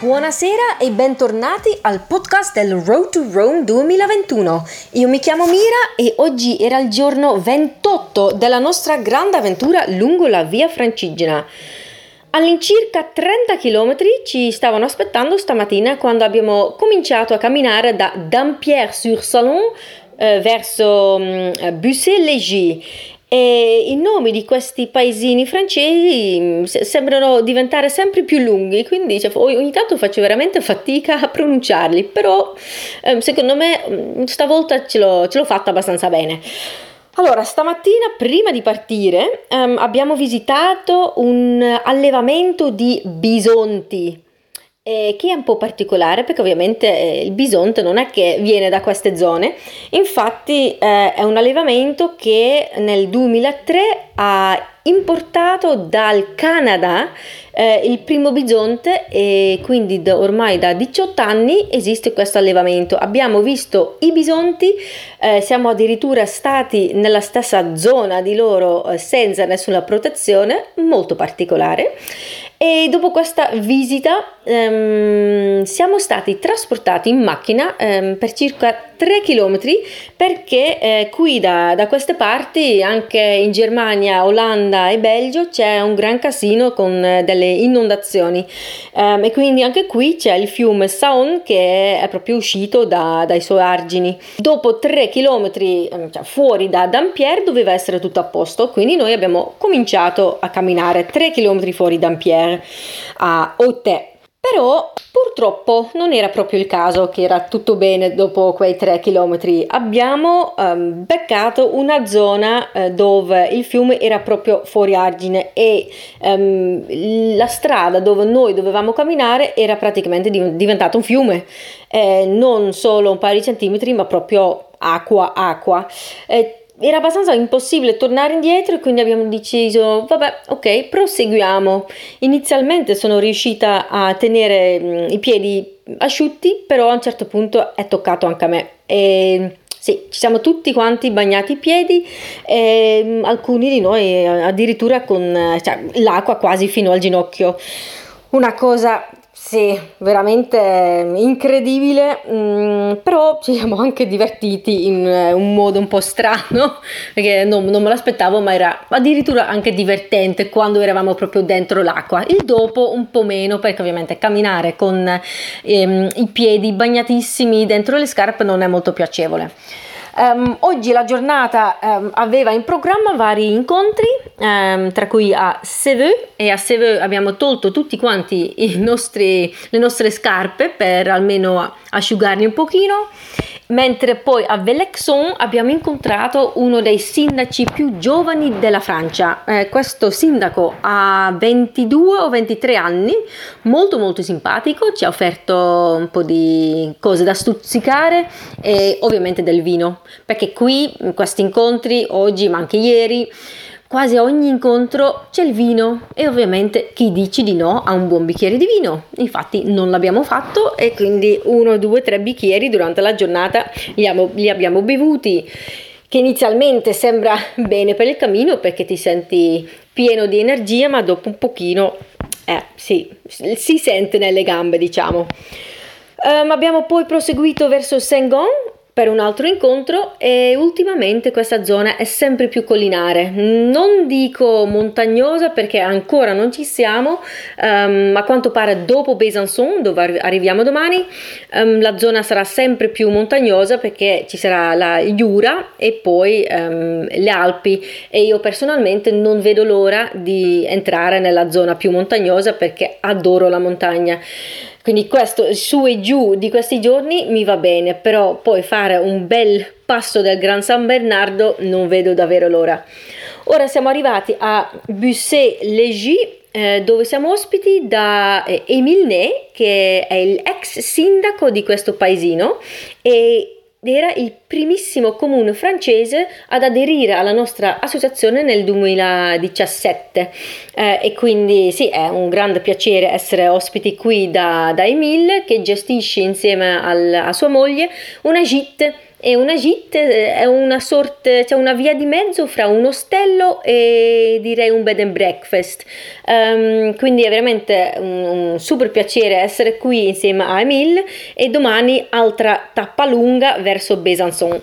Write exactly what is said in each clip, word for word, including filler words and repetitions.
Buonasera e bentornati al podcast del Road to Rome duemilaventuno. Io mi chiamo Mira e oggi era il giorno ventotto della nostra grande avventura lungo la via Francigena. All'incirca trenta chilometri ci stavano aspettando stamattina quando abbiamo cominciato a camminare da Dampierre-sur-Salon eh, verso um, Bussy-Léger. E i nomi di questi paesini francesi sembrano diventare sempre più lunghi, quindi cioè, ogni tanto faccio veramente fatica a pronunciarli, però eh, secondo me stavolta ce l'ho, ce l'ho fatta abbastanza bene. Allora, stamattina prima di partire um, abbiamo visitato un allevamento di bisonti. Eh, che è un po' particolare perché ovviamente eh, il bisonte non è che viene da queste zone, infatti eh, è un allevamento che nel duemilatré ha importato dal Canada eh, il primo bisonte e quindi da, ormai da diciotto anni esiste questo allevamento. Abbiamo visto i bisonti, eh, siamo addirittura stati nella stessa zona di loro eh, senza nessuna protezione, molto particolare. E dopo questa visita ehm, siamo stati trasportati in macchina ehm, per circa tre chilometri perché eh, qui da, da queste parti, anche in Germania, Olanda e Belgio, c'è un gran casino con eh, delle inondazioni ehm, e quindi anche qui c'è il fiume Saône che è proprio uscito da, dai suoi argini. Dopo tre chilometri ehm, cioè fuori da Dampierre doveva essere tutto a posto, quindi noi abbiamo cominciato a camminare tre chilometri fuori Dampierre a Auteuil. Però purtroppo non era proprio il caso che era tutto bene dopo quei tre chilometri. Abbiamo um, beccato una zona uh, dove il fiume era proprio fuori argine e um, la strada dove noi dovevamo camminare era praticamente div- diventata un fiume, eh, non solo un paio di centimetri ma proprio acqua, acqua. Eh, Era abbastanza impossibile tornare indietro e quindi abbiamo deciso, vabbè, ok, proseguiamo. Inizialmente sono riuscita a tenere mh, i piedi asciutti, però a un certo punto è toccato anche a me. E sì, ci siamo tutti quanti bagnati i piedi, e mh, alcuni di noi addirittura con cioè, l'acqua quasi fino al ginocchio. Una cosa... Sì, veramente incredibile, mm, però ci siamo anche divertiti in un modo un po' strano, perché non, non me l'aspettavo, ma era addirittura anche divertente quando eravamo proprio dentro l'acqua. Il dopo un po' meno, perché ovviamente camminare con ehm, i piedi bagnatissimi dentro le scarpe non è molto piacevole. Um, oggi la giornata um, aveva in programma vari incontri, um, tra cui a Seveux, e a Seveux abbiamo tolto tutti quanti i nostri, le nostre scarpe per almeno asciugarli un pochino, mentre poi a Velexon abbiamo incontrato uno dei sindaci più giovani della Francia. Eh, questo sindaco ha ventidue o ventitré anni, molto molto simpatico, ci ha offerto un po' di cose da stuzzicare e ovviamente del vino, perché qui in questi incontri, oggi ma anche ieri, quasi a ogni incontro c'è il vino e ovviamente chi dice di no a un buon bicchiere di vino. Infatti non l'abbiamo fatto e quindi uno, due, tre bicchieri durante la giornata li abbiamo, li abbiamo bevuti, che inizialmente sembra bene per il cammino perché ti senti pieno di energia, ma dopo un pochino eh, sì, si sente nelle gambe, diciamo. Um, abbiamo poi proseguito verso Saint-Gon per un altro incontro e ultimamente questa zona è sempre più collinare, non dico montagnosa perché ancora non ci siamo, um, a quanto pare dopo Besançon, dove arriviamo domani, um, la zona sarà sempre più montagnosa perché ci sarà la Jura e poi um, le Alpi, e io personalmente non vedo l'ora di entrare nella zona più montagnosa perché adoro la montagna. Quindi questo su e giù di questi giorni mi va bene, però poi fare un bel passo del Gran San Bernardo non vedo davvero l'ora. Ora siamo arrivati a Bussy-Léger, eh, dove siamo ospiti da eh, Émile Ney, che è l'ex sindaco di questo paesino e era il primissimo comune francese ad aderire alla nostra associazione nel duemiladiciassette, eh, e quindi sì, è un grande piacere essere ospiti qui da, da Émile, che gestisce insieme al, a sua moglie una gite E una gite è una sorta, cioè una via di mezzo fra un ostello e direi un bed and breakfast. Um, quindi è veramente un, un super piacere essere qui insieme a Emile e domani altra tappa lunga verso Besançon.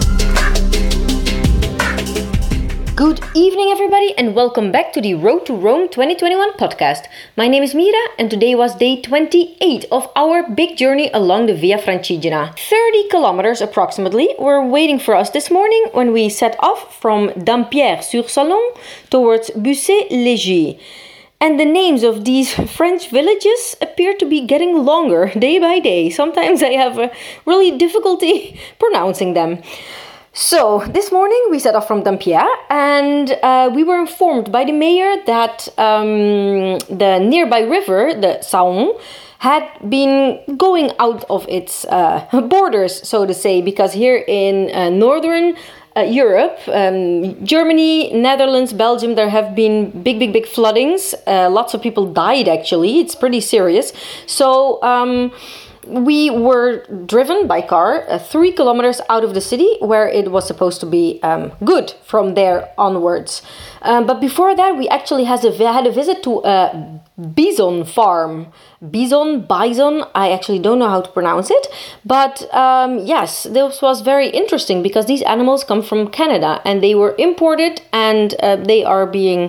Good evening, everybody, and welcome back to the Road to Rome twenty twenty-one podcast. My name is Mira, and today was day twenty-eight of our big journey along the Via Francigena. thirty kilometers approximately were waiting for us this morning when we set off from Dampierre-sur-Salon towards Bussy-Léger. And the names of these French villages appear to be getting longer day by day. Sometimes I have a really difficulty pronouncing them. So, this morning we set off from Dampierre and uh, we were informed by the mayor that um, the nearby river, the Saône, had been going out of its uh, borders, so to say, because here in uh, northern uh, Europe, um, Germany, Netherlands, Belgium, there have been big, big, big floodings. Uh, lots of people died, actually. It's pretty serious. So, um... we were driven by car uh, three kilometers out of the city where it was supposed to be um, good from there onwards. Um, but before that, we actually has a, had a visit to a bison farm. Bison, bison, I actually don't know how to pronounce it. But um, yes, this was very interesting because these animals come from Canada and they were imported and uh, they are being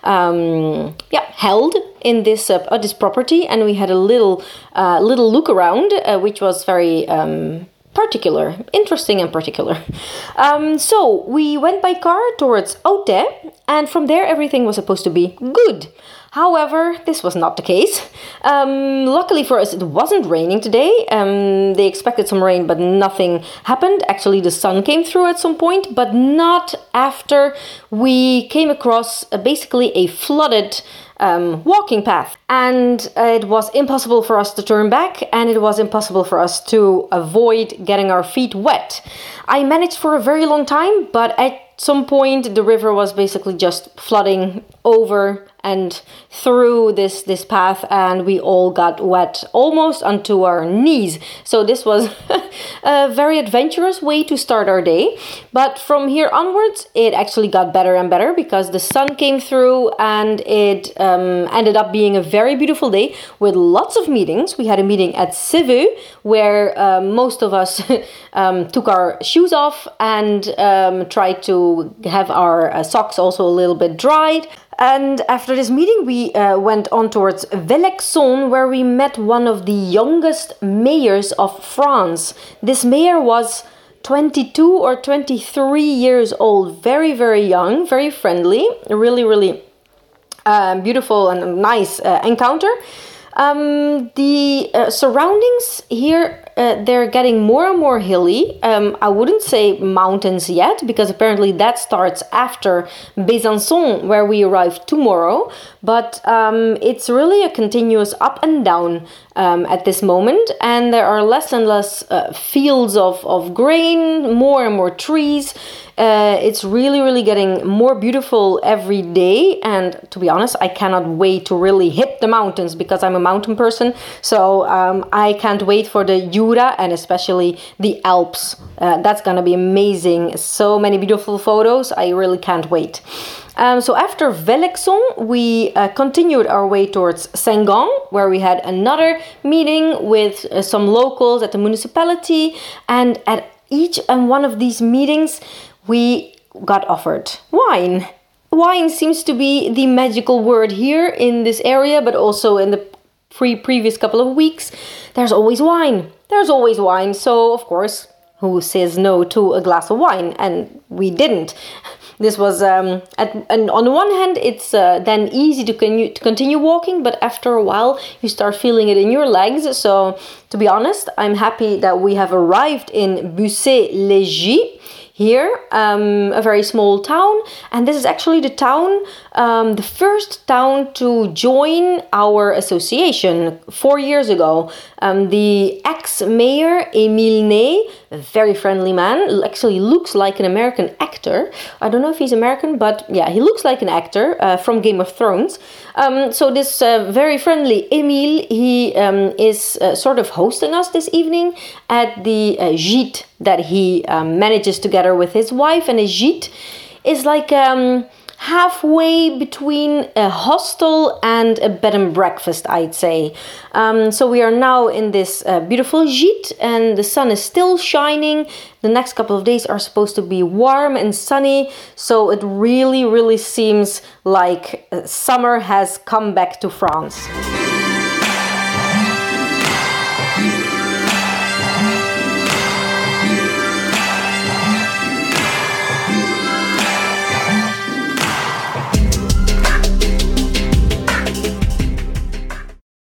um, yeah, held in this uh, uh, this property, and we had a little uh, little look around, uh, which was very um, particular, interesting and particular. Um, so we went by car towards Auteuil, and from there everything was supposed to be good. However, this was not the case. Um, luckily for us, it wasn't raining today. Um, they expected some rain, but nothing happened. Actually, the sun came through at some point, but not after we came across uh, basically a flooded um, walking path. And uh, it was impossible for us to turn back, and it was impossible for us to avoid getting our feet wet. I managed for a very long time, but at some point the river was basically just flooding over and through this this path, and we all got wet almost onto our knees. So this was a very adventurous way to start our day. But from here onwards, it actually got better and better because the sun came through, and it um, ended up being a very beautiful day with lots of meetings. We had a meeting at Civeux where uh, most of us um, took our shoes off and um, tried to have our uh, socks also a little bit dried. And after this meeting, we uh, went on towards Velexon, where we met one of the youngest mayors of France. This mayor was twenty-two or twenty-three years old, very, very young, very friendly, really, really uh, beautiful and nice uh, encounter. Um, the uh, surroundings here, uh, they're getting more and more hilly. Um, I wouldn't say mountains yet, because apparently that starts after Besançon, where we arrive tomorrow. But um, it's really a continuous up and down um, at this moment. And there are less and less uh, fields of, of grain, more and more trees. Uh, it's really, really getting more beautiful every day. And to be honest, I cannot wait to really hit the mountains because I'm a mountain person. So um, I can't wait for the Jura and especially the Alps. Uh, that's going to be amazing. So many beautiful photos. I really can't wait. Um, so after Velexon, we uh, continued our way towards Saint-Gand, where we had another meeting with uh, some locals at the municipality. And at each and one of these meetings, we got offered wine. Wine seems to be the magical word here in this area, but also in the pre- previous couple of weeks. There's always wine. There's always wine. So, of course, who says no to a glass of wine? And we didn't. This was, um, at, and on the one hand, it's uh, then easy to, con- to continue walking, but after a while, you start feeling it in your legs. So, to be honest, I'm happy that we have arrived in Bussy-Léger. Here, um, a very small town, and this is actually the town, um, the first town to join our association four years ago. Um, the ex-mayor, Emile Ney, a very friendly man, actually looks like an American actor. actor. I don't know if he's American, but yeah, he looks like an actor uh, from Game of Thrones. Um, so this uh, very friendly Emile, he um, is uh, sort of hosting us this evening at the uh, gîte that he um, manages together with his wife. And a gîte is like um, halfway between a hostel and a bed and breakfast, I'd say. Um, so we are now in this uh, beautiful gîte, and the sun is still shining. The next couple of days are supposed to be warm and sunny, so it really, really seems like uh, summer has come back to France.